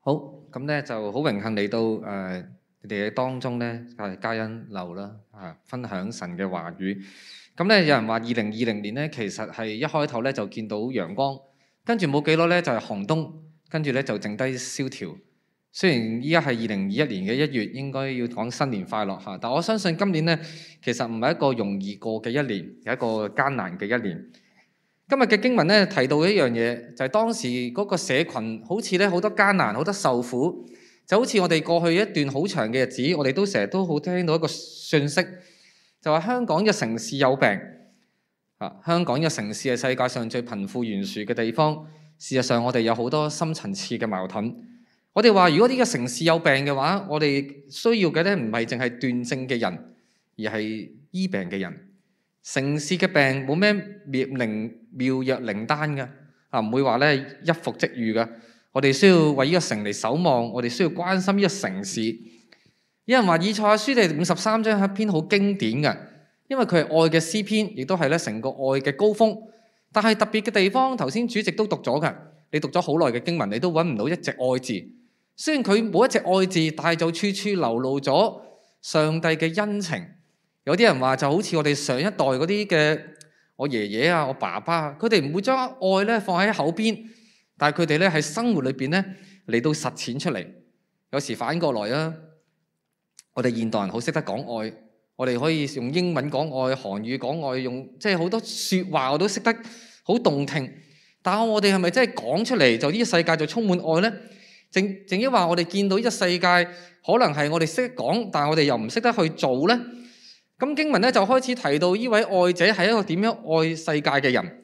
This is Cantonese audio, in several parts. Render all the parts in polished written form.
好，咁咧就好榮幸嚟到你哋嘅當中咧，嘉欣樓啦分享神嘅話語。咁咧有人話2020年咧，其實係一開頭咧就見到陽光，跟住冇幾耐咧就係寒冬，跟住咧就剩低蕭條。雖然依家係2021年嘅1月，應該要講新年快樂嚇，但我相信今年咧其實唔係一個容易過嘅一年，係一個艱難嘅一年。今日嘅經文咧提到一樣嘢，就係當時嗰個社群好似咧好多艱難，好多受苦，就好似我哋過去一段好長嘅日子，我哋都成日都好聽到一個訊息，就話香港嘅城市有病香港嘅城市係世界上最貧富懸殊嘅地方。事實上，我哋有好多深層次嘅矛盾。我哋話，如果呢個城市有病嘅話，我哋需要嘅咧唔係淨係斷症嘅人，而係醫病嘅人。城市嘅病冇咩妙藥靈丹嘅唔會話咧一服即愈嘅。我哋需要為呢個城嚟守望，我哋需要關心呢個城市。有人話以賽亞書第53章係一篇好經典嘅，因為佢係愛嘅詩篇，亦都係咧成個愛嘅高峰。但係特別嘅地方，頭先主席都讀咗嘅，你讀咗好耐嘅經文，你都揾唔到一隻愛字。雖然佢冇一隻愛字，但係就處處流露咗上帝嘅恩情。有啲人話就好似我哋上一代嗰啲嘅我爺爺啊、我爸爸啊，佢哋唔會將愛咧放喺口邊，但係佢哋咧喺生活裏邊咧嚟到實踐出嚟。有時反過來啊，我哋現代人好識得講愛，我哋可以用英文講愛、韓語講愛，用即係好多説話我都識得好動聽。但係我哋係咪真係講出嚟就呢個世界就充滿愛呢？正因話我哋見到呢個世界可能係我哋識講，但係我哋又唔識得去做呢。咁經文咧就開始提到呢位愛者係一個點樣愛世界嘅人。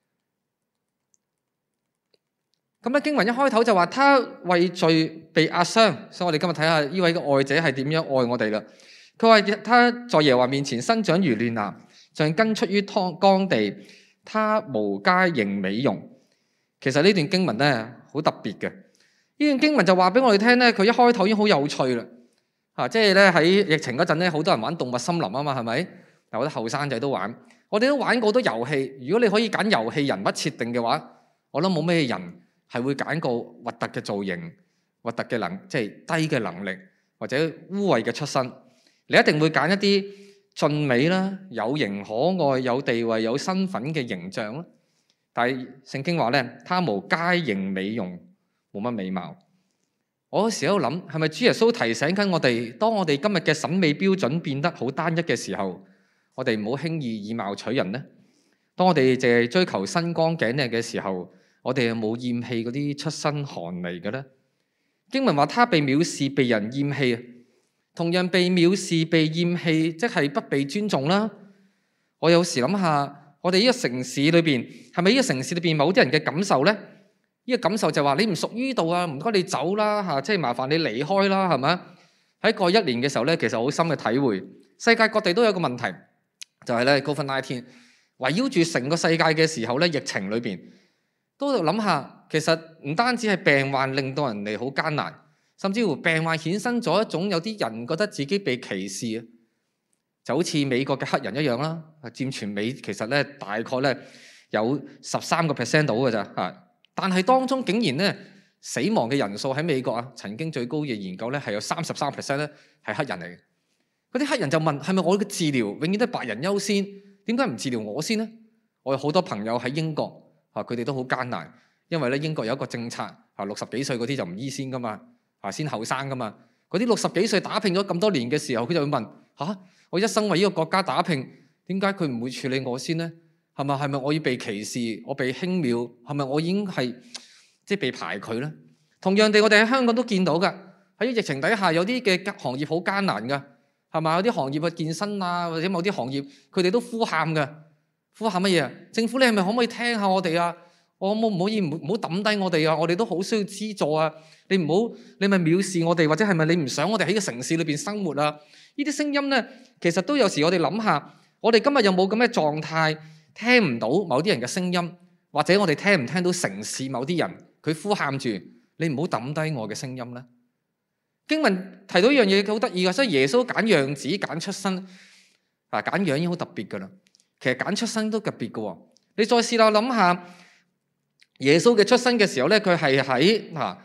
咁咧經文一開頭就話他為罪被壓傷，所以我哋今日睇下呢位嘅愛者係點樣愛我哋啦。佢話他在耶和華面前生長如嫩芽，像根出於乾地，他無佳形美容。其實呢段經文咧好特別嘅。呢段經文就話俾我哋聽咧，佢一開頭已經好有趣啦。即係咧喺疫情嗰陣咧，好多人玩動物森林啊嘛，係咪？有啲後生仔都玩，我哋都玩過好多遊戲。如果你可以揀遊戲人物設定嘅話，我諗冇咩人係會揀個核突嘅造型、核突嘅即係低嘅能力或者污穢嘅出身。你一定會揀一啲俊美啦、有型可愛、有地位、有身份嘅形象啦。但係聖經話咧，他無佳形美容，冇乜美貌。我有時喺度諗，係咪主耶穌提醒緊我哋，當我哋今日嘅審美標準變得好單一嘅時候，我哋唔好輕易以貌取人呢？當我哋淨係追求身光頸靚嘅時候，我哋有冇厭棄嗰啲出身寒微嘅呢？經文話他被藐視，被人厭棄，同樣被藐視、被厭棄，即係不被尊重啦。我有時諗下，我哋呢個城市裏邊，係咪呢個城市裏邊某啲人嘅感受呢？呢個感受就話你唔屬於呢度啊，唔該你走啦嚇，即係麻煩你離開啦，係咪？喺過一年嘅時候咧，其實好深嘅體會，世界各地都有個問題，就係咧 COVID-19 圍繞住成個世界嘅時候咧，疫情裏邊都喺度諗下，其實唔單止係病患令到人哋好艱難，甚至乎病患衍生咗一種有啲人覺得自己被歧視啊，就好似美國嘅黑人一樣啦，佔全美其實咧大概咧有13% 到嘅咋嚇。但係當中竟然咧死亡嘅人數喺美國啊，曾經最高嘅研究咧係有33%咧係黑人嚟嘅。嗰啲黑人就問：係咪我嘅治療永遠都係白人優先？點解唔治療我先呢？我有好多朋友喺英國佢哋都好艱難，因為咧英國有一個政策60幾歲嗰啲就唔醫先噶嘛先後生噶嘛。嗰啲60幾歲打拼咗咁多年嘅時候，佢就會問：我一生為呢個國家打拼，點解佢唔會處理我先呢？係咪我要被歧視？我被輕蔑？係咪我已經係被排拒呢？同樣地，我哋喺香港都見到㗎。喺疫情底下，有啲嘅行業好艱難㗎，係咪？有啲行業嘅健身啊，或者某啲行業，佢哋都呼喊㗎。呼喊乜嘢？政府你係咪可唔可以聽下我哋啊？我可唔可以唔好抌低我哋啊？我哋都好需要資助啊！你咪藐視我哋，或者係咪你唔想我哋喺個城市裏邊生活啊？呢啲聲音咧，其實都有時我哋諗下，我哋今日有冇咁嘅狀態？聽唔到某啲人嘅聲音，或者我哋聽唔聽到城市某啲人佢呼喊住你唔好抌低我嘅聲音呢？經文提到一樣嘢好得意嘅，所以耶穌揀樣子揀出身揀樣已經好特別噶啦。其實揀出身都特別嘅喎。你再試下諗下耶穌嘅出身嘅時候咧，佢係喺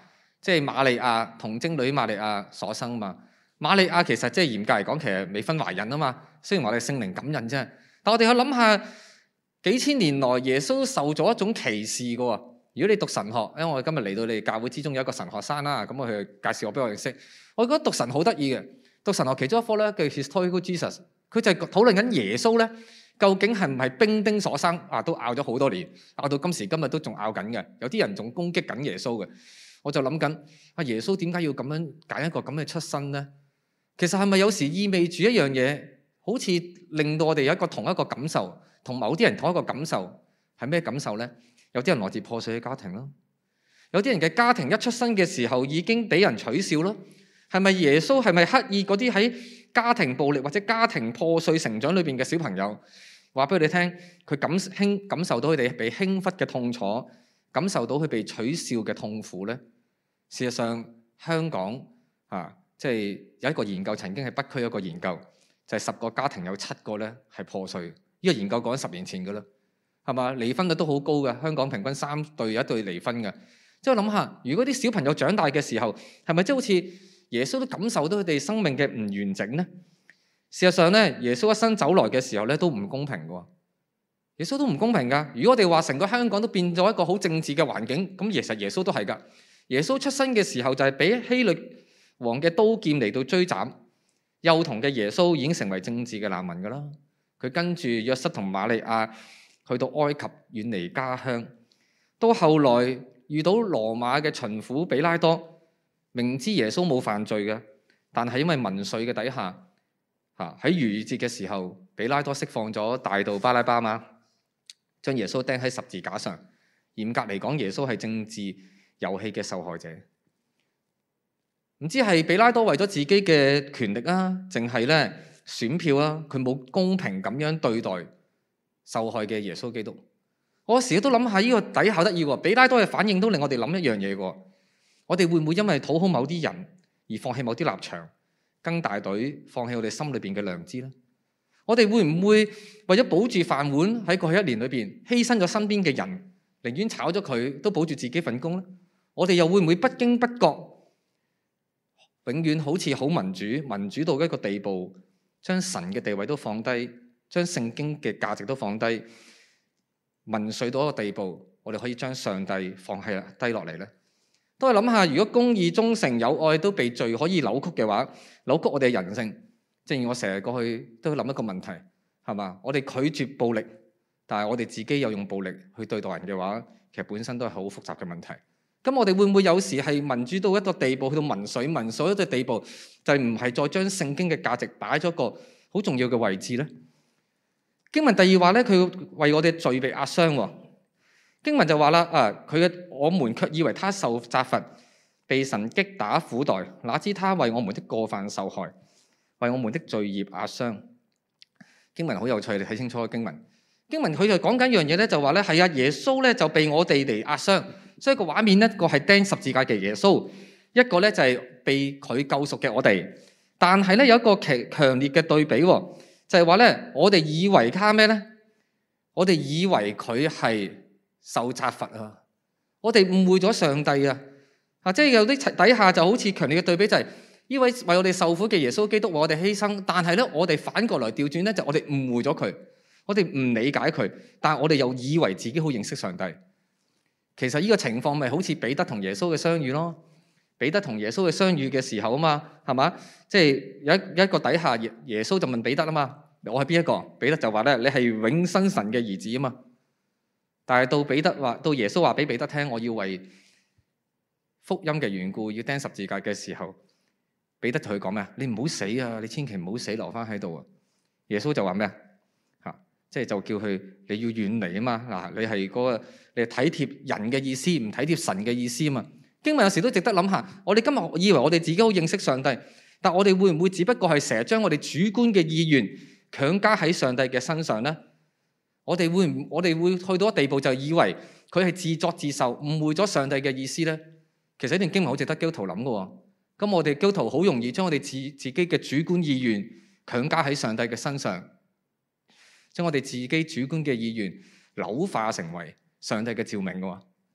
即係瑪利亞童貞女瑪利亞所生嘛。瑪利亞其實即係嚴格嚟講，其實未婚懷孕啊嘛。雖然話你聖靈感孕啫，但我哋去諗下，幾千年來耶穌受咗一種歧視嘅喎。如果你讀神學，因為我哋今日嚟到你哋教會之中有一個神學生啦，咁我去介紹我俾我認識。我覺得讀神好得意嘅，讀神學其中一科咧叫 Historical Jesus， 佢就係討論緊耶穌咧究竟係唔係兵丁所生啊？都拗咗好多年，拗到今時今日都仲拗緊嘅。有啲人仲攻擊緊耶穌嘅。我就諗緊啊，耶穌點解要咁樣揀一個咁嘅出身咧？其實係咪有時意味住一樣嘢，好似令到我哋有一個同一個感受，同某啲人同一個感受係咩感受咧？有啲人來自破碎嘅家庭咯，有啲人嘅家庭一出生嘅時候已經俾人取笑咯。係咪耶穌係咪刻意嗰啲喺家庭暴力或者家庭破碎成長裏邊嘅小朋友，話俾佢哋聽，佢感受到佢哋被輕忽嘅痛楚，感受到佢被取笑嘅痛苦咧？事實上，香港即係有一個研究，曾經係北區有一個研究，就係10個家庭有7個咧係破碎。呢個研究講緊10年前㗎啦。係嘛？離婚率都好高嘅，香港平均3對有1對離婚嘅。即係我諗下，如果啲小朋友長大嘅時候，係咪即係好似耶穌都感受到佢哋生命嘅唔完整呢？事實上咧，耶穌一生走來嘅時候咧，都唔公平嘅。耶穌都唔公平㗎。如果我哋話成個香港都變咗一個好政治嘅環境，咁其實耶穌都係㗎。耶穌出生嘅時候就係俾希律王嘅刀劍嚟到追斬，幼童嘅耶穌已經成為政治嘅難民㗎啦。佢跟住約瑟同瑪利亞去到埃及遠離家鄉，到後來遇到羅馬嘅巡撫比拉多，明知耶穌冇犯罪嘅，但係因為民粹嘅底下，喺逾越節嘅時候，比拉多釋放咗大盜巴拉巴嘛，將耶穌釘喺十字架上。嚴格嚟講，耶穌係政治遊戲嘅受害者。唔知係比拉多為咗自己嘅權力啊，淨係咧選票啊，佢冇公平咁樣對待受害嘅耶穌基督。我時都諗下呢個底下得意喎，比拉多嘅反應都令我哋諗一樣嘢喎。我哋會唔會因為討好某啲人而放棄某啲立場，跟大隊放棄我哋心裏邊嘅良知呢？我哋會唔會為咗保住飯碗喺過去1年裏邊犧牲咗身邊嘅人，寧願炒咗佢都保住自己份工呢？我哋又會唔會不經不覺永遠好似好民主到一個地步，將神嘅地位都放低，將聖經嘅價值都放低，民粹到一個地步，我哋可以將上帝放低落嚟呢？都係諗下，如果公義、忠誠、友愛都被罪可以扭曲嘅話，扭曲我哋嘅人性。正如我成日過去都諗一個問題，係嘛？我哋拒絕暴力，但係我哋自己又用暴力去對待人嘅話，其實本身都係好複雜嘅問題。咁我哋會唔會有時係民主到一個地步，去到民粹一個地步，就唔係再將聖經嘅價值擺咗個好重要嘅位置呢？經文第2話咧，佢為我哋罪被壓傷。經文就話啦，我們卻以為他受責罰，被神擊打苦待，哪知他為我們的過犯受害，為我們的罪孽壓傷。經文好有趣，你睇清楚個經文。經文佢就講緊一樣嘢咧，就話咧係啊，耶穌咧就被我哋嚟壓傷。所以個畫面一個係釘十字架嘅耶穌，一個咧就係被佢救贖嘅我哋。但係咧有一個強烈嘅對比，就係話咧我哋以為他咩咧？我哋以為佢係受責罰啊！我哋誤會咗上帝啊！即係有啲底下就好似強烈嘅對比，就係呢位為我哋受苦嘅耶穌基督為我哋犧牲，但係咧我哋反過來調轉咧，就我哋誤會咗佢，我哋唔理解佢，但係我哋又以為自己好認識上帝。其實呢個情況咪好似彼得同耶穌嘅相遇咯。彼得同耶穌嘅相遇嘅時候啊嘛，係嘛？即係有一個底下耶穌就問彼得啊嘛，我係邊一個？彼得就話咧，你係永生神嘅兒子啊嘛。但係到耶穌話俾彼得聽，我要為福音嘅緣故要釘十字架嘅時候，彼得同佢講咩啊？你唔好死啊！你千祈唔好死，留翻喺度啊！耶穌就話咩啊？即係就叫佢你要遠離啊嘛。嗱，你係你係體貼人嘅意思，唔體貼神嘅意思啊嘛。經文有時都值得諗下。我哋今日以為我哋自己好認識上帝，但我哋會唔會只不過係成日將我哋主觀嘅意願強加喺上帝嘅身上呢？我哋會去到一個地步，就以為佢係自作自受，誤會咗上帝嘅意思呢？其實呢段經文好值得基督徒諗嘅。咁我哋基督徒好容易將我哋自己嘅主觀意願強加喺上帝嘅身上，將我哋自己主觀嘅意願扭化成為上帝嘅召命嘅。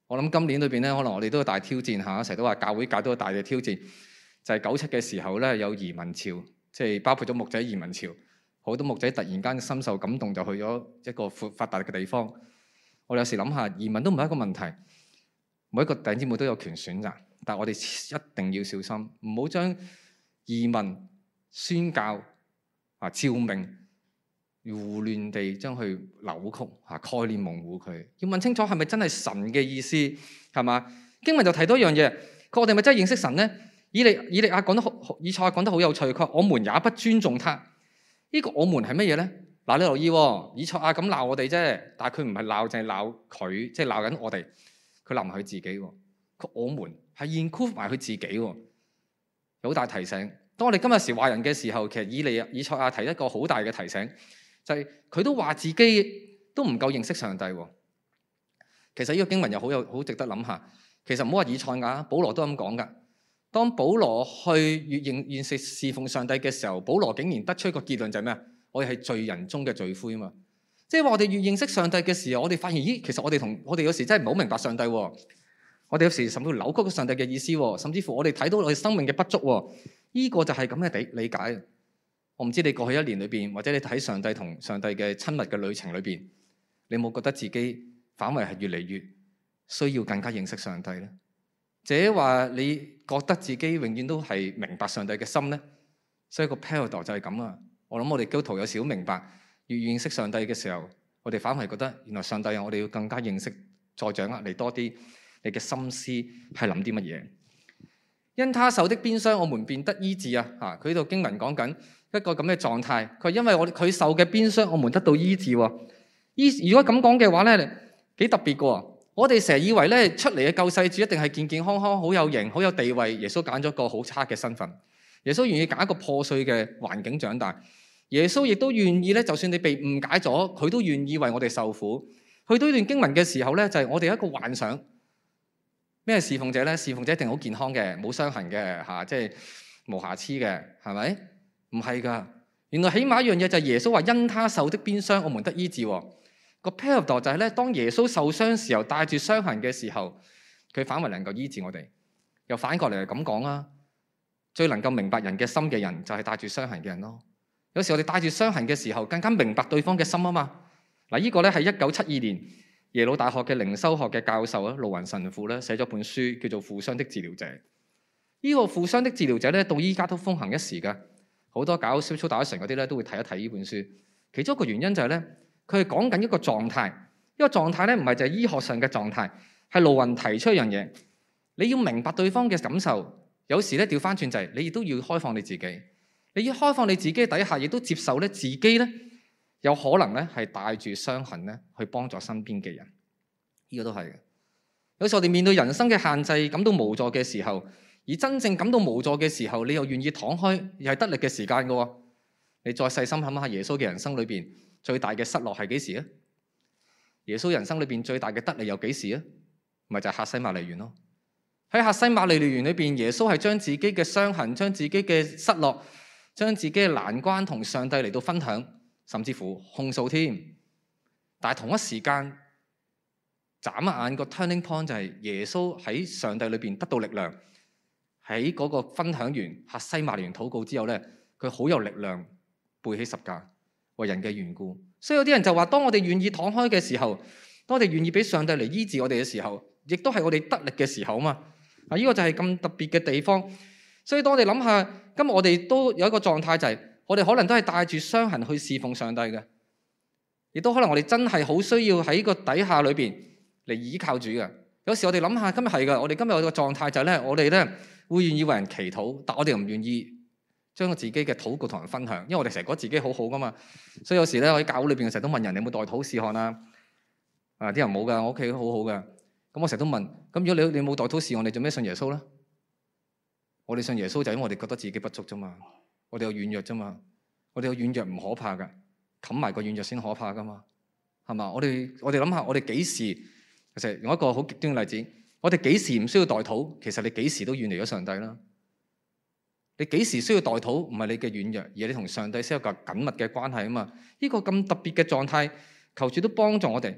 我諗今年裏邊咧，可能我哋都有大挑戰嚇，成日都話教會界都有大嘅挑戰，就係97嘅時候咧，有移民潮，即係包括咗牧者移民潮，好多牧者突然間深受感動，就去咗一個發達嘅地方。我哋有時諗下，移民都唔係一個問題，每一個弟兄姊妹都有權選擇，但係我哋一定要小心，唔好將移民宣教照明胡亂地將佢扭曲概念模糊佢，要問清楚係咪真係神嘅意思，係嘛？經文就提到一樣嘢，我哋咪真係認識神呢？以利亞講得好，以賽亞講得好有趣，佢話我們也不尊重他。呢個我們係乜嘢咧？嗱，你留意喎，以賽亞咁鬧我哋啫，但係佢唔係鬧，淨係鬧佢，即係鬧緊我哋。佢鬧埋佢自己喎，佢我們係 include 埋佢自己喎，有好大提醒。當我哋今日時話人嘅時候，其實以賽亞提一個好大嘅提醒。就係佢都話自己都唔夠認識上帝喎。其實呢個經文又好值得諗下。其實唔好話以賽亞，保羅都咁講噶。當保羅去越認識侍奉上帝嘅時候，保羅竟然得出一個結論就係咩啊？我哋係罪人中嘅罪魁啊嘛。即係話我哋越認識上帝嘅時候，我哋發現咦，其實我哋有時真係唔好明白上帝喎。我哋有時甚至乎扭曲咗上帝嘅意思喎，甚至乎我哋睇到我哋生命嘅不足喎。呢個就係咁嘅理解。我唔知你過去一年裏邊，或者你睇上帝同上帝嘅親密嘅旅程裏邊，你有冇覺得自己反為係越嚟越需要更加認識上帝咧？或者話你覺得自己永遠都係明白上帝嘅心咧？所以個 paradox 就係咁啊！我諗我哋基督徒有時好明白，越認識上帝嘅時候，我哋反為覺得原來上帝我哋要更加認識，再掌握你多啲你嘅心思係諗啲乜嘢。因他受的鞭傷，我們便得醫治啊！佢呢度經文講緊一個咁嘅狀態，佢因為佢受嘅鞭傷，我們得到醫治喎。如果咁講嘅話咧，幾特別嘅。我哋成日以為咧出嚟嘅救世主一定係健健康康、好有型、好有地位。耶穌揀咗個好差嘅身份，耶穌願意揀一個破碎嘅環境長大。耶穌亦都願意咧，就算你被誤解咗，佢都願意為我哋受苦。去到呢段經文嘅時候咧，就係我哋一個幻想。咩侍奉者咧？侍奉者一定好健康嘅，冇傷痕嘅即係無瑕疵嘅，係咪？唔係㗎。原來起碼一樣嘢就係耶穌話因他受的鞭傷，我們得醫治。個 paradox 就係咧，當耶穌受傷時候，帶住傷痕嘅時候，佢反為能夠醫治我哋。又反過嚟係咁講啦，最能夠明白人嘅心嘅人，就係帶住傷痕嘅人咯。有時我哋帶住傷痕嘅時候，更加明白對方嘅心啊嘛。嗱，呢個咧係1972年。耶魯大學嘅靈修學嘅教授盧雲神父咧寫咗本書叫做《負傷的治療者》。呢個負傷的治療者咧到依家都風行一時㗎，好多搞 spiritual direction嗰啲咧都會睇一睇呢本書。其中一個原因就係咧，佢係講緊一個狀態，呢個狀態咧唔係就係醫學上嘅狀態，係盧雲提出一樣嘢，你要明白對方嘅感受。有時咧調翻轉就係你亦都要開放你自己，你要開放你自己底下，亦都接受咧自己咧。有可能咧係帶住傷痕咧去幫助身邊嘅人，呢個都係嘅。有時我哋面對人生嘅限制，感到無助嘅時候，而真正感到無助嘅時候，你又願意敞開，又係得力嘅時間嘅喎。你再細心諗下耶穌嘅人生裏邊最大嘅失落係幾時啊？耶穌人生裏邊最大嘅得利又幾時啊？咪就係客西馬尼園咯。喺客西馬尼園裏邊，耶穌係將自己嘅傷痕、將自己嘅失落、將自己嘅難關同上帝嚟到分享。甚至乎控訴添，但係同一時間眨一眼個 turning point 就係耶穌喺上帝裏邊得到力量，喺嗰個分享完客西馬尼園禱告之後咧，佢好有力量背起十架為人嘅緣故。所以有啲人就話，當我哋願意敞開嘅時候，當我哋願意俾上帝嚟醫治我哋嘅時候，亦都係我哋得力嘅時候啊嘛。啊，呢個就係咁特別嘅地方。所以當我哋諗下，今日我哋都有一個狀態就係。我哋可能都係帶住傷痕去侍奉上帝嘅，亦都可能我哋真係好需要喺個底下裏邊嚟依靠主嘅。有時我哋諗下，今日係㗎，我哋今日個狀態就係咧，我哋咧會願意為人祈禱，但我哋又唔願意將自己嘅禱告同人分享，因為我哋成日覺得自己好好噶嘛。所以有時咧，我喺教會裏邊成日都問人：你有冇代禱事項啊？啲人冇㗎，我屋企好好㗎。咁我成日都問：咁如果你冇代禱事項，你做咩信耶穌咧？我哋信耶穌就因為我哋覺得自己不足啫嘛。我哋有軟弱啫嘛，我哋有軟弱唔可怕噶，冚埋個軟弱先可怕噶嘛，係嘛？我哋諗下，我哋幾時其實用一個好極端嘅例子，我哋幾時唔需要代禱？其實你幾時都遠離咗上帝啦。你幾時需要代禱？唔係你嘅軟弱，而係你同上帝先有個緊密嘅關係啊嘛。呢個咁特別嘅狀態，求主都幫助我哋。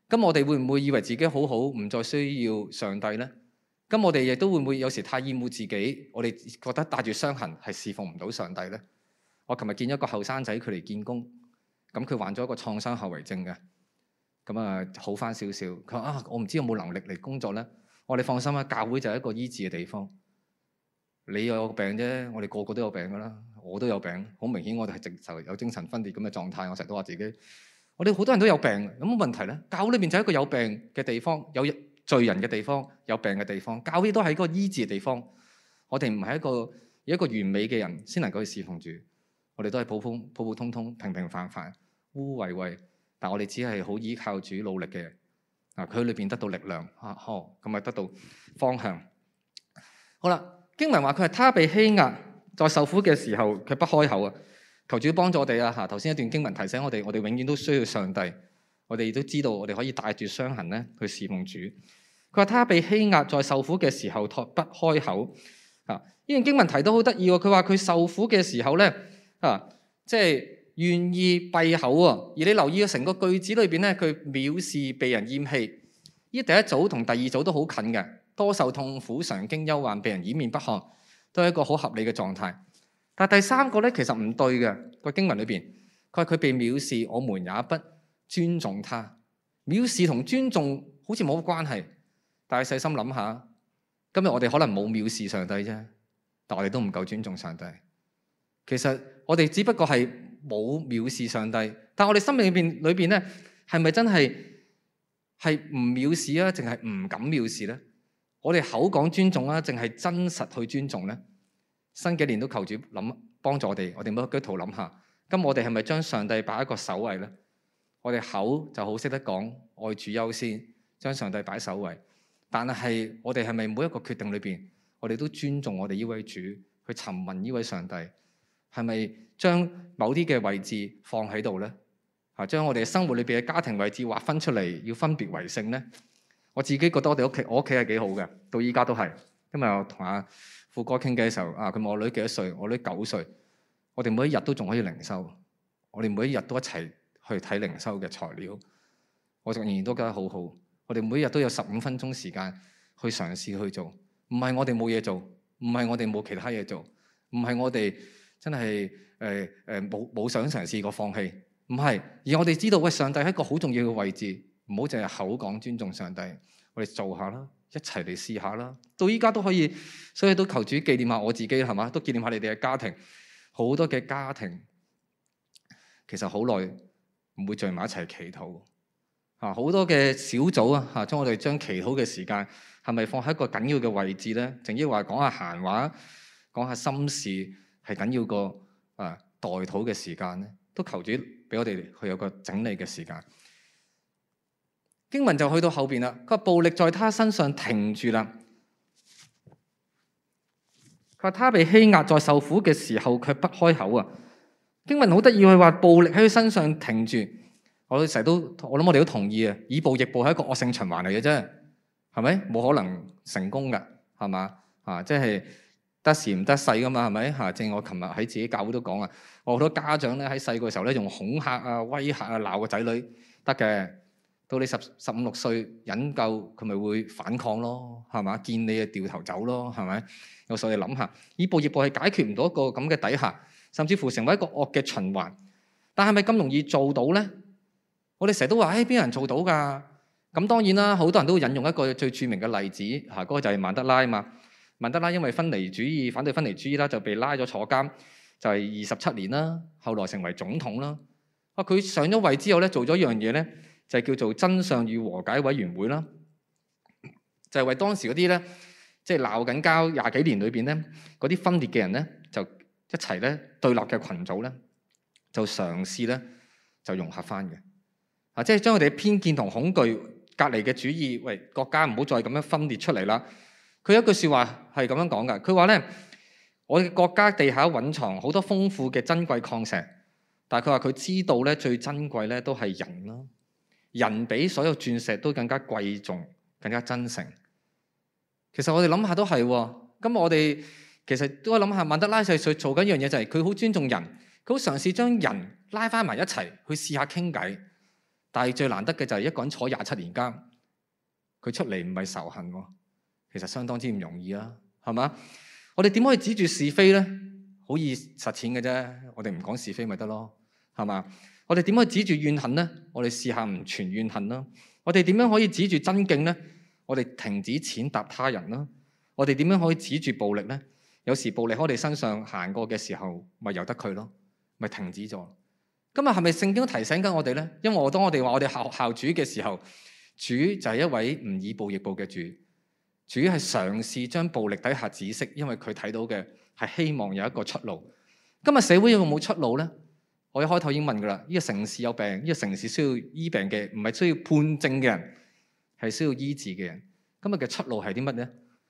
咁我哋會唔會以為自己好好，唔再需要上帝呢？咁我哋亦都會唔會有時太厭惡自己？我哋覺得帶住傷痕係侍奉唔到上帝呢？我琴日見一個後生仔，佢嚟見工，咁佢患咗一個創傷後遺症嘅，咁啊好翻少少。佢話啊，我唔知有冇能力嚟工作呢？我哋放心啦，教會就係一個醫治嘅地方。你有病啫，我哋個個都有病噶啦，我都有病，好明顯我哋係直頭有精神分裂咁嘅狀態。我成日都話自己，我哋好多人都有病，有冇問題呢？教會裏面就係一個有病嘅地方，有罪人嘅地方，有病嘅地方。教會都係一個醫治嘅地方。我哋唔係一個完美嘅人先能夠去侍奉主，我哋都係普普通通、平平凡凡、污穢穢，但我哋只係好依靠主努力嘅人。佢喺裏邊得到力量，咁咪得到方向。好啦，經文話佢係他被欺壓，在受苦嘅時候佢不開口啊！求主幫助我哋啊！頭先一段經文提醒我哋，我哋永遠都需要上帝。我哋都知道，我哋可以帶住傷痕咧去侍奉主。佢話他被欺壓，在受苦嘅時候不開口啊！呢段經文提到好得意喎。佢話佢受苦嘅時候咧即係願意閉口啊。而你留意成個句子裏邊咧，佢藐視被人厭棄。呢第一組同第二組都好近嘅，多受痛苦、常經憂患、被人掩面不看，都係一個好合理嘅狀態。但第三個咧其實唔對嘅，個經文裏邊，佢話佢被藐視，我們也不尊重他。藐視同尊重好似冇乜關係，但係細心諗下，今日我哋可能冇藐視上帝啫，但我哋都唔夠尊重上帝。其實我哋只不過係冇藐視上帝，但我哋心裏邊咧，係咪真係唔藐視啊？淨係唔敢藐視咧？我哋口講尊重啊，淨係真實去尊重咧？新幾年都求主幫助我哋每一個基督徒諗下，咁我哋係咪將上帝擺一個首位咧？我哋口就好識得講愛主優先，將上帝擺首位，但係我哋係咪每一個決定裏邊，我哋都尊重我哋呢位主，去詢問呢位上帝，係咪將某啲嘅位置放喺度咧？將我哋生活裏邊嘅家庭位置劃分出嚟，要分別為聖咧？我自己覺得我屋企係幾好嘅，到依家都係。今日我同阿富哥傾偈嘅時候，佢問我女幾多歲？我女9歲。我哋每一日都仲可以靈修，我哋每一日都一齊去睇靈修嘅材料，我仍然都覺得好好。我哋每一日都有15分鐘時間去嘗試去做，唔係我哋冇嘢做，唔係我哋冇其他嘢做，唔係我哋真係冇想嘗試過放棄，唔係，而我哋知道喂，上帝係一個好重要嘅位置，唔好淨係口講尊重上帝，我哋做下啦，一齊嚟試下啦。到依家都可以，所以都求主紀念下我自己係嘛，都紀念下你哋嘅家庭。好多嘅家庭其實好耐唔會聚埋一齊祈禱好多嘅小組啊將我哋將祈禱嘅時間係咪放喺一個緊要嘅位置咧？淨係話講下閒話，講下心事係緊要過代禱嘅時間咧？都求主俾我哋去有個整理嘅時間。經文就去到後邊啦，個暴力在他身上停住啦。佢話他被欺壓，在受苦嘅時候卻不開口啊！經文好得意，佢話暴力喺佢身上停住。我諗我哋都同意啊！以暴易暴係一個惡性循環嚟嘅啫，係咪？冇可能成功㗎，係嘛？即係得時唔得勢㗎嘛，係咪？正如我琴日喺自己教會都講啊，我好多家長咧喺細個時候咧用恐嚇啊、威嚇啊鬧個仔女得嘅，到你15、16歲忍夠，佢咪會反抗咯，係嘛？見你就掉頭走咯，係咪？有時候你諗下，以暴易暴係解決唔到一個咁嘅底下，甚至乎成為一個惡嘅循環。但係咪咁容易做到咧？我哋成日都話，邊有人做到㗎？咁當然啦，好多人都引用一個最著名嘅例子，嗰個就係曼德拉啊嘛。曼德拉因為分離主義、反對分離主義啦，就被拉咗坐監，就係27年啦。後來成為總統啦。佢上咗位之後咧，做咗一樣嘢咧，就係叫做真相與和解委員會啦，就係為當時嗰啲咧，即係鬧緊交20幾年裏邊咧，嗰啲分裂嘅人咧，就一齊咧對立嘅群組咧，就嘗試咧就融合翻嘅，即係將佢哋嘅偏見同恐懼、隔離嘅主義，喂，國家唔好再咁樣分裂出嚟啦。佢有一句説話係咁樣講㗎，佢話咧，我哋國家地下蘊藏好多豐富嘅珍貴礦石，但係佢話佢知道咧最珍貴咧都係人啦，人比所有鑽石都更加貴重、更加真誠。其實我哋諗下都係喎，咁我哋其實都諗下，曼德拉做緊一樣嘢就係佢好尊重人，佢好嘗試將人拉翻埋一齊去試下傾偈。 但係最難得嘅就係一個人坐27年監，佢出嚟唔係仇恨喎，其實相當之唔容易啊，係嘛？我哋點可以指住是非咧？好易實踐嘅啫，我哋唔講是非咪得咯，係嘛？我哋點可以指住怨恨咧？我哋試下唔存怨恨啦。我哋點樣可以指住真敬咧？我哋停止踐踏他人啦。我哋點樣可以指住暴力咧？有時暴力喺我哋身上行過嘅時候，咪由得佢咯，咪停止咗。今日係咪聖經都提醒緊我哋咧？因為當我哋話我哋效主嘅時候，主就係一位唔以暴易暴嘅主。主係嘗試將暴力底下止息，因為佢睇到嘅係希望有一個出路。今日社會有冇出路咧？我一開頭已經問噶啦，呢個城市有病，呢個城市需要醫病嘅，唔係需要判證嘅人，係需要醫治嘅人。今日嘅出路係啲乜咧？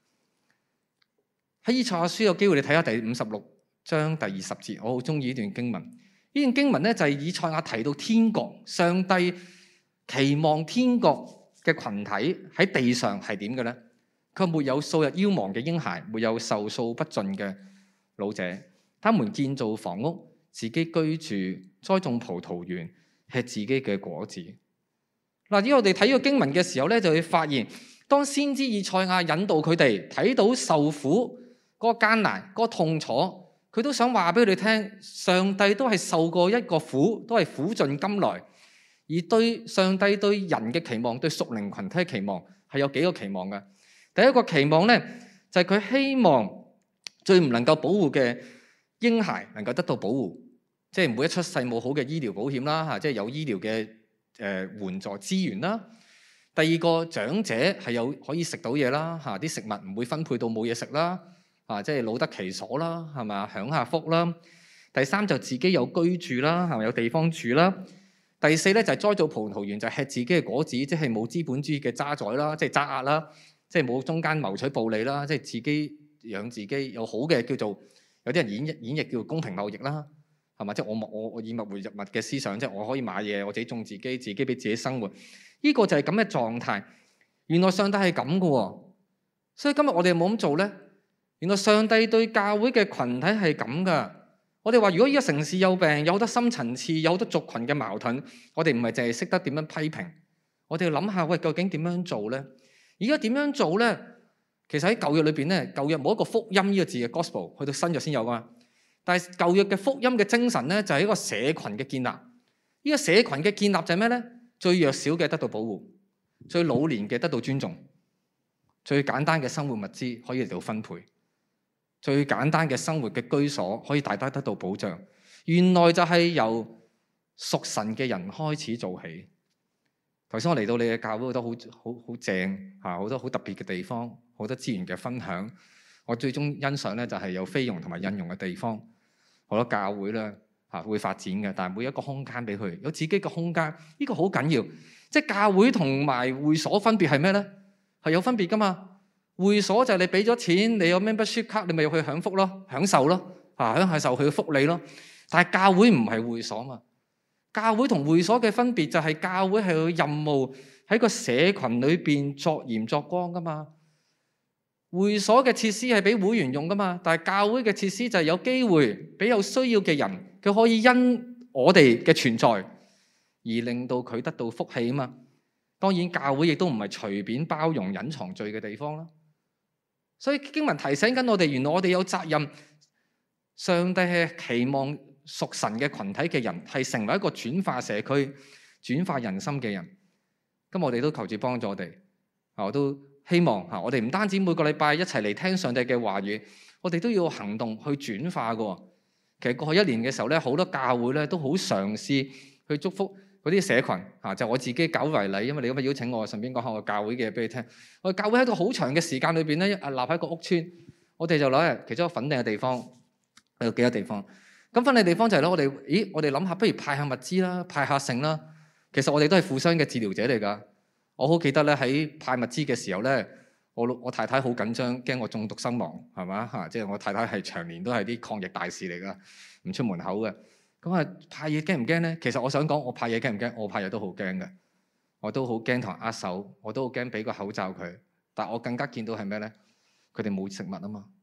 喺以賽亞書有機會你睇下第56章第20節，我好中意呢段經文。呢段經文咧就係以賽亞提到天國，上帝期望天國嘅群體喺地上係點嘅咧？佢沒有數日夭亡嘅嬰孩，沒有壽數不盡嘅老者，他們建造房屋，自己居住，栽種葡萄園，吃自己嘅果子。嗱，如果我哋睇呢個經文嘅時候咧，就會發現，當先知以賽亞引導佢哋睇到受苦嗰個艱難、嗰個痛楚，佢都想話俾佢哋聽，上帝都係受過一個苦，都係苦盡甘來。而對上帝對人嘅期望，對屬靈群體嘅期望係有幾個期望嘅。第一個期望咧，就係佢希望最唔能夠保護嘅嬰孩能夠得到保護，即係每一出世冇好嘅醫療保險啦，嚇，即係有醫療嘅援助資源啦。第二個長者係有可以食到嘢啦，嚇，啲食物唔會分配到冇嘢食啦，即係老得其所啦，係咪？享下福啦。第三就自己有居住啦，係咪？有地方住啦。第四咧就係栽造葡萄園，就係吃自己嘅果子，即係冇資本主義嘅渣滓啦，即係揸壓啦。即係冇中間謀取暴利啦，即係自己養自己，有好嘅叫做有啲人演繹叫做公平貿易啦，係嘛？即係我以物換物嘅思想，即係我可以買嘢，我自己種自己，自己俾自己生活。呢個就係咁嘅狀態。原來上帝係咁嘅喎，所以今日我哋冇咁做咧。原來上帝對教會嘅群體係咁噶。我哋話如果呢個城市有病，有好多深層次，有好多族群嘅矛盾，我哋唔係淨係識得點樣批評，我哋要諗下，喂，究竟點樣做咧？而家點樣做咧？其實喺舊約裏邊咧，舊約冇一個福音呢個字嘅 gospel， 去到新約先有噶嘛。但係舊約嘅福音嘅精神咧，就係一個社群嘅建立。呢個社群嘅建立就係咩咧？最弱小嘅得到保護，最老年嘅得到尊重，最簡單嘅生活物資可以嚟到分配，最簡單嘅生活嘅居所可以大家得到保障。原來就係由屬神嘅人開始做起。頭先我嚟到你嘅教會，覺得好正嚇，好多好特別嘅地方，好多資源嘅分享。我最終欣賞咧就係有菲傭同埋印傭嘅地方。好多教會咧嚇會發展嘅，但係每一個空間俾佢有自己嘅空間，呢個好緊要。即係教會同埋會所分別係咩咧？係有分別噶嘛？會所就係你俾咗錢，你有 membership 卡，你咪要去享福咯、享受咯嚇，享受佢嘅福利咯。但係教會唔係會所嘛。教會同會所嘅分別就係教會係有任務喺個社群裏邊作鹽作光噶嘛。會所嘅設施係俾會員用噶嘛，但係教會嘅設施就係有機會俾有需要嘅人，佢可以因我哋嘅存在而令到佢得到福氣啊嘛。當然教會亦都唔係隨便包容隱藏罪嘅地方啦。所以經文提醒緊我哋，原來我哋有責任，上帝係期望屬神嘅群體嘅人係成為一個轉化社區、轉化人心嘅人。咁我哋都求主幫助我哋。我都希望我哋唔單止每個禮拜一齊嚟聽上帝嘅話語，我哋都要行動去轉化嘅。其實過去一年嘅時候咧，好多教會咧都好嘗試去祝福嗰啲社群。就我自己搞為例，因為你咁樣邀請我，順便講下我教會嘅俾你聽。我哋教會喺一個好長嘅時間裏邊咧，立喺一個屋邨，我哋就攞嚟其中一個粉嶺嘅地方，有幾個地方。咁分嘅地方就係咧，我哋諗下，不如派下物資啦，派下剩啦。其實我哋都係互相嘅治療者嚟㗎。我好記得咧，喺派物資嘅時候咧，我太太好緊張，驚我中毒身亡，係嘛嚇？即係我太太係長年都係啲抗疫大使嚟㗎，唔出門口嘅。咁派嘢驚唔驚咧？其實我想講，我派嘢驚唔驚？我派嘢都好驚嘅，我都好驚同人握手，我都好驚俾個口罩佢。但我更加見到係咩咧？佢哋冇食物啊嘛。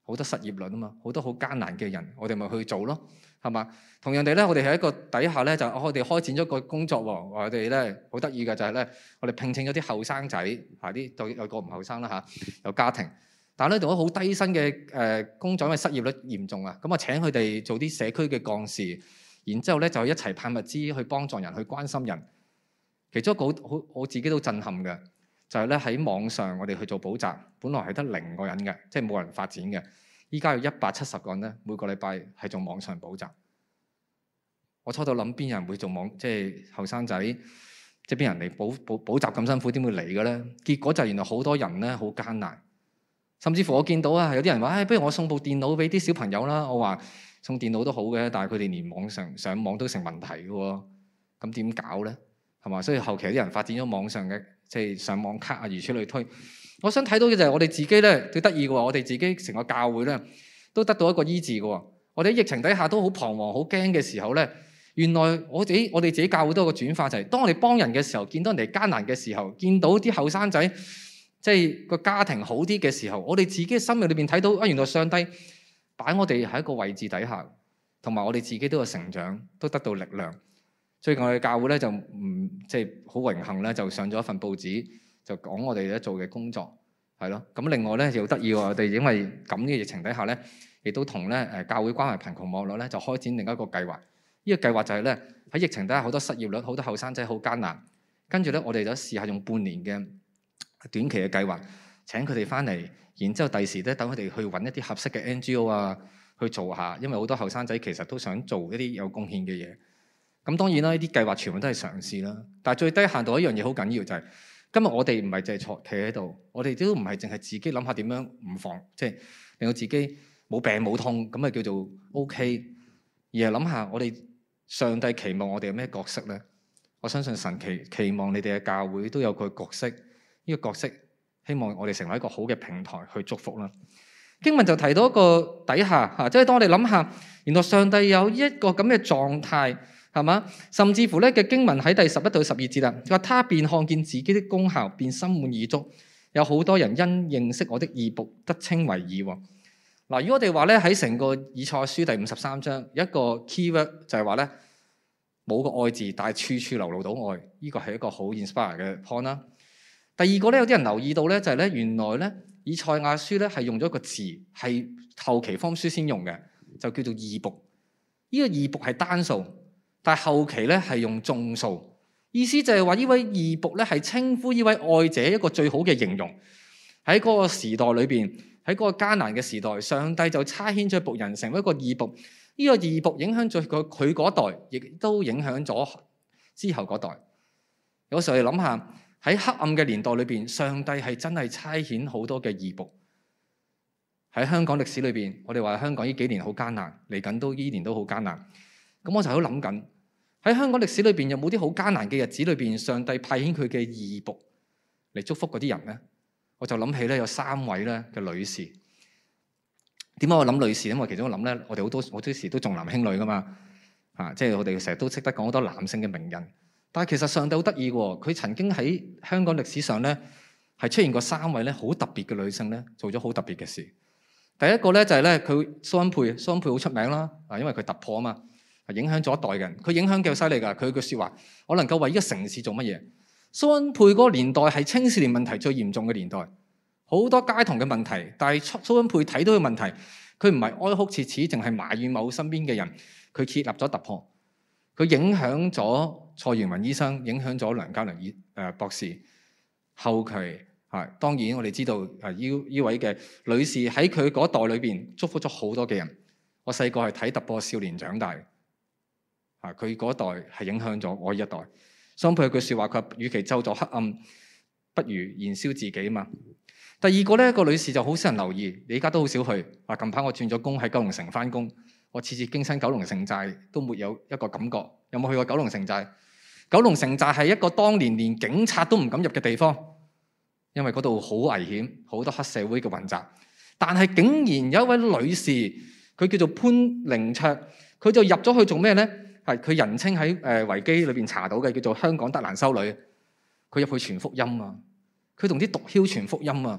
好多失業率啊嘛，好多好艱難嘅人，我哋咪去做咯，係嘛？同樣地咧，我哋喺一個底下咧，就我哋開展咗個工作喎。我哋咧好得意嘅就係咧，我哋聘請咗啲後生仔嚇，啲有個唔後生啦嚇，有家庭，但係咧做咗好低薪嘅工作，因為失業率嚴重啊。咁啊請佢哋做啲社區嘅幹事，然之後咧就一齊派物資去幫助人，去關心人。其中一個好我自己都震撼嘅，就係咧喺網上我哋去做補習，本來係得0個人嘅，即係冇人發展嘅。依家有170個人咧，每個禮拜係做網上補習。我初度諗邊有人會做即係後生仔，即係邊人嚟補習咁辛苦，點會嚟嘅咧？結果就原來好多人咧好艱難，甚至乎我見到啊，有啲人話，不如我送部電腦俾啲小朋友啦。我話送電腦都好嘅，但係佢哋連網上網都成問題嘅喎，咁點搞咧？係嘛？所以後期有啲人發展咗網上嘅，即係上網卡啊，如此類推。我想睇到嘅就係我哋自己咧，最得意嘅喎，我哋自己成個教會咧，都得到一個醫治嘅喎。我哋喺疫情底下都好彷徨、好驚嘅時候咧，原來我哋自己教會都有個轉化，就係當我哋幫人嘅時候，見到人哋艱難嘅時候，見到啲後生仔即係個家庭好啲嘅時候，我哋自己嘅心裏邊睇到啊，原來上帝擺我哋喺一個位置底下，同埋我哋自己都有成長，都得到力量。最近我哋教會咧就即係好榮幸咧，就上咗一份報紙，就講我哋咧做嘅工作係咯。咁另外咧又得意喎，我哋因為咁嘅疫情底下咧，亦都同咧教會關懷貧窮網絡咧就開展另一個計劃。呢個計劃就係咧喺疫情底下好多失業率，好多後生仔好艱難。跟住咧我哋就試下用半年嘅短期嘅計劃請佢哋翻嚟，然之後第時咧等佢哋去揾一啲合適嘅 NGO 啊去做下，因為好多後生仔其實都想做一啲有貢獻嘅嘢。咁當然啦，呢啲計劃全部都係嘗試啦。但係最低限度一樣嘢好緊要就係，今日我哋唔係淨係坐企喺度，我哋都唔係淨係自己諗下點樣唔防，即係令到自己冇病冇痛咁啊叫做 OK，而係諗下我哋上帝期望我哋有咩角色咧？我相信神期望你哋嘅教會都有個角色，呢個角色希望我哋成為一個好嘅平台去祝福啦。經文就提到一個底下嚇，即係當我哋諗下，原來上帝有一個咁嘅狀態。係嘛？甚至乎咧嘅經文喺第11到12節啦，佢話他便看見自己的功效，便心滿意足。有好多人因認識我的義僕得稱為義。嗱，如果我哋話咧喺成個以賽亞書第53章有一個 keyword 就係話咧冇個愛字，但係處處流露到愛，呢個係一個好 inspire 嘅 point 啦。第二個咧有啲人留意到咧就係咧原來咧以賽亞書咧係用咗一個字係後期福音書先用嘅，就叫做義僕。呢個義僕係單數。但係後期咧係用眾數，意思就係話呢位義僕咧係稱呼呢位愛者一個最好嘅形容。喺嗰個時代裏邊，喺嗰個艱難嘅時代，上帝就差遣咗僕人成為一個義僕。呢個義僕影響咗佢嗰代，亦都影響咗之後嗰代。有時候你諗下喺黑暗嘅年代裏邊，上帝係真係差遣好多嘅義僕。喺香港歷史裏邊，我哋話香港呢幾年好艱難，嚟緊都依年都好艱難。咁我就喺度諗緊。喺香港歷史裏邊有冇啲好艱難嘅日子裏邊，上帝派遣佢嘅義僕嚟祝福嗰啲人咧？我就諗起咧有3位咧嘅女士。點解我諗女士？因為其中我諗咧，我哋好多時都重男輕女噶嘛，即係我哋成日都識得講好多男性嘅名人。但係其實上帝好得意喎，佢曾經喺香港歷史上咧係出現過3位咧好特別嘅女性咧，做咗好特別嘅事。第一個咧就係咧佢蘇恩佩好出名啦，因為佢突破啊嘛。影響咗一代嘅人，佢影響幾犀利㗎。佢句説話，我能夠為呢個城市做乜嘢？蘇恩佩嗰個年代係青少年問題最嚴重嘅年代，好多街童嘅問題。但係蘇恩佩睇到嘅問題，佢唔係哀哭切齒，淨係埋怨某身邊嘅人。佢設立咗突破，佢影響咗蔡元雲醫生，影響咗梁家良博士。後期當然我哋知道呢位嘅女士喺佢嗰代裏邊祝福咗好多嘅人。我細個係睇突破少年長大。佢嗰代係影響咗我一代。蘇恩佩有句説話，佢話：與其咒詛黑暗，不如燃燒自己嘛。第二個咧，個女士就好少人留意，你而家都好少去。近排我轉咗工喺九龍城翻工，我次次經親九龍城寨都沒有一個感覺。有冇去過九龍城寨？九龍城寨係一個當年連警察都唔敢入嘅地方，因為嗰度好危險，好多黑社會嘅混雜。但係竟然有一位女士，佢叫做潘靈卓，佢就入咗去做咩咧？係佢人稱喺維基裏邊查到嘅，叫做香港德蘭修女。佢入去傳福音啊，佢同啲毒梟傳福音啊。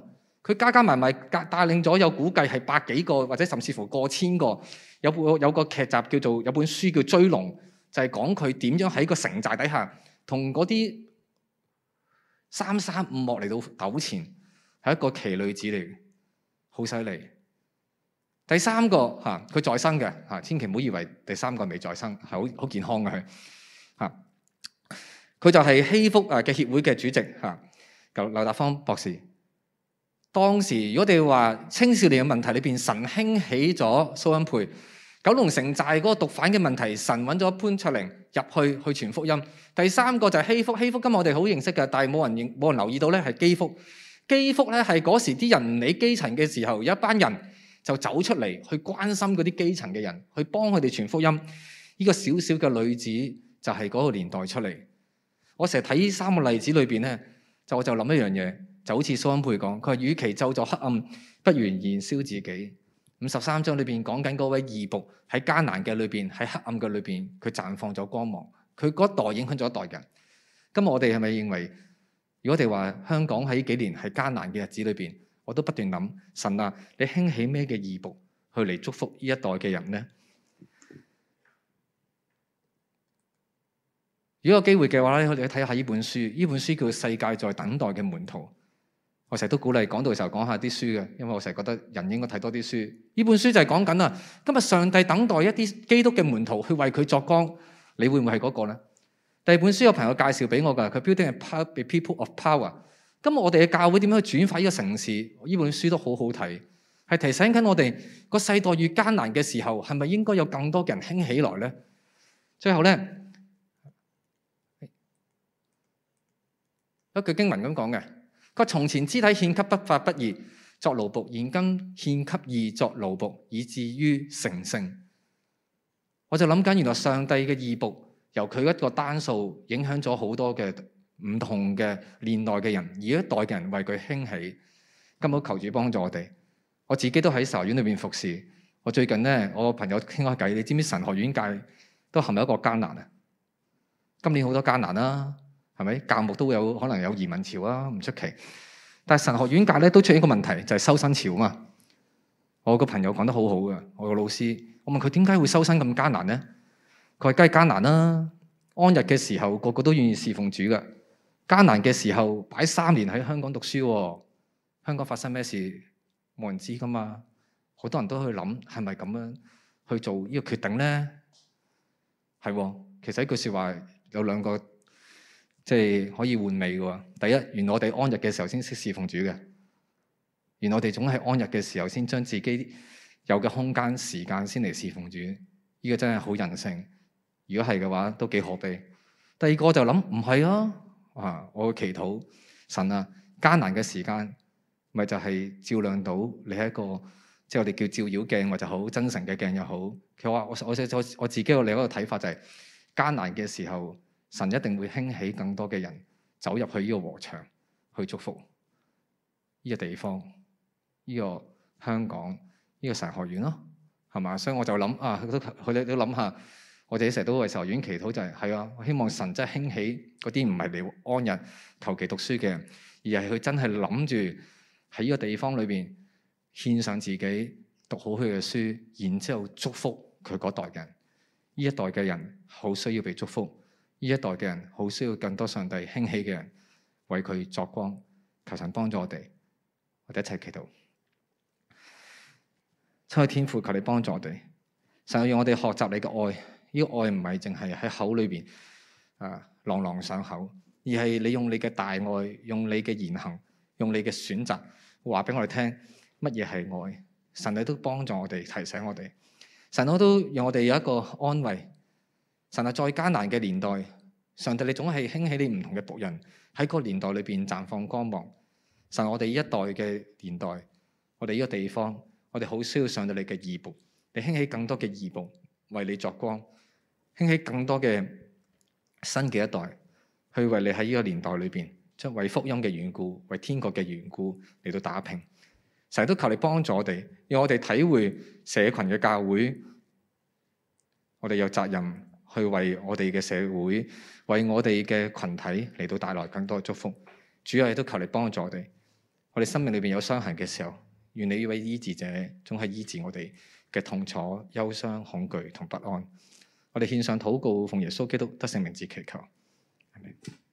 佢加埋帶領咗有估計係百幾個或者甚至乎過千個。有個劇集叫做有本書叫《追龍》，就係講佢點樣喺個城寨底下同嗰啲335幕嚟到糾纏，係一個奇女子嚟嘅，好犀利。第三個佢再生嘅千祈唔好以為第三個未再生，係好健康嘅佢佢就係希福嘅協會嘅主席劉達芳博士。當時如果我哋話青少年嘅問題裏邊，神興起咗蘇恩培；九龍城寨嗰個毒販嘅問題，神揾咗潘卓靈入去傳福音。第三個就係希福，希福今日我哋好認識嘅，但係冇人留意到咧，係基福。基福咧係嗰時啲人唔理基層嘅時候，有一班人就走出嚟去關心嗰啲基層嘅人，去幫佢哋傳福音。呢個小小嘅女子就係嗰個年代出嚟。我成日睇呢三個例子裏邊咧，我就諗一樣嘢，就好似蘇恩佩講，佢話與其咒詛黑暗，不如燃燒自己。53章裏邊講緊嗰位義僕喺艱難嘅裏邊，喺黑暗嘅裏邊，佢綻放咗光芒。佢嗰一代影響咗一代人。今日我哋係咪認為，如果我哋話香港喺幾年係艱難嘅日子裏邊，我都不斷諗，神啊，你興起咩嘅義僕去嚟祝福呢一代嘅人呢？如果有機會嘅話咧，我哋睇下呢本書。呢本書叫《世界在等待嘅門徒》。我成日都鼓勵講道嘅時候講下啲書嘅，因為我成日覺得人應該睇多啲書。呢本書就係講緊啊，今日上帝等待一啲基督嘅門徒去為佢作光，你會唔會係嗰個呢？第二本書有朋友介紹俾我㗎，佢 Building a People of Power。今日我哋嘅教會點樣去轉化呢個城市？呢本書都好好睇，係提醒緊我哋個世代越艱難嘅時候，係咪應該有更多嘅人興起來呢？最後呢，一句經文咁講嘅。佢從前肢體獻給不法不義作奴僕，現今獻給義作奴僕，以至於成聖。我就諗緊，原來上帝嘅義僕由佢一個單數影響咗好多嘅唔同嘅年代嘅人，而一代嘅人為佢興起。今日求主幫助我哋。我自己都喺神學院裏邊服侍。我最近呢，我朋友傾開偈，你知唔知神學院界都陷入一個艱難啊？今年好多艱難啦。係咪教牧都有可能有移民潮啊？唔出奇。但係神學院界咧都出現一個問題，就係收生潮啊嘛。我個朋友講得好好嘅，我個老師，我問佢點解會收生咁艱難呢？佢話梗係艱難啦。安逸嘅時候個個都願意侍奉主嘅，艱難嘅時候擺3年喺香港讀書喎，香港發生咩事冇人知噶嘛。好多人都去諗係咪咁樣去做呢個決定呢？係喎，其實一句説話有兩個。即係可以換味嘅喎。第一，原來我哋安逸嘅時候先識侍奉主嘅。原來我哋總係安逸嘅時候先將自己有嘅空間、時間先嚟侍奉主。呢個真係好人性。如果係嘅話，都幾可悲。第二個就諗唔係啊！我嘅祈禱，神啊，艱難嘅時間咪就係照亮到你係一個，即係我哋叫照妖鏡或者好真誠嘅鏡又好。佢話我自己有另一個睇法就係艱難嘅時候。神一定會興起更多嘅人走入去呢個禾場去祝福呢個地方，呢個香港，呢個神學院咯，係嘛？所以我就諗佢哋都諗下，我哋成日都為神學院祈禱，就係啊，我希望神真係興起嗰啲唔係嚟安逸求其讀書嘅人，而係佢真係諗住喺呢個地方裏邊獻上自己讀好佢嘅書，然之後祝福佢嗰代人。呢一代嘅人好需要被祝福。呢一代嘅人好需要更多上帝興起嘅人為佢作光，求神幫助我哋，我哋一齊祈禱。親愛天父，求你幫助我哋，神要讓我哋學習你嘅愛。呢個愛唔係淨係喺口裏邊朗朗上口，而係你用你嘅大愛，用你嘅言行，用你嘅選擇，話俾我哋聽乜嘢係愛。神你都幫助我哋，提醒我哋。神我都讓我哋有一個安慰。神啊，再艱難嘅年代，上帝你總係興起你唔同嘅僕人喺個年代裏邊綻放光芒。神，我哋呢一代嘅年代，我哋呢個地方，我哋好需要上帝你嘅義僕，你興起更多嘅義僕為你作光，興起更多嘅新嘅一代去為你喺呢個年代裏邊，將為福音嘅緣故，為天國嘅緣故嚟到打拼。成日都求你幫助我哋，讓我哋體會社群嘅教會，我哋有責任。去為我哋嘅社會，為我哋嘅群體嚟到帶來更多嘅祝福。主啊，亦都求你幫助我哋。 我哋生命裏邊有傷痕嘅時候，願你呢位醫治者總係醫治我哋嘅痛楚、憂傷、恐懼同不安。我哋獻上禱告，奉耶穌基督得勝名字祈求。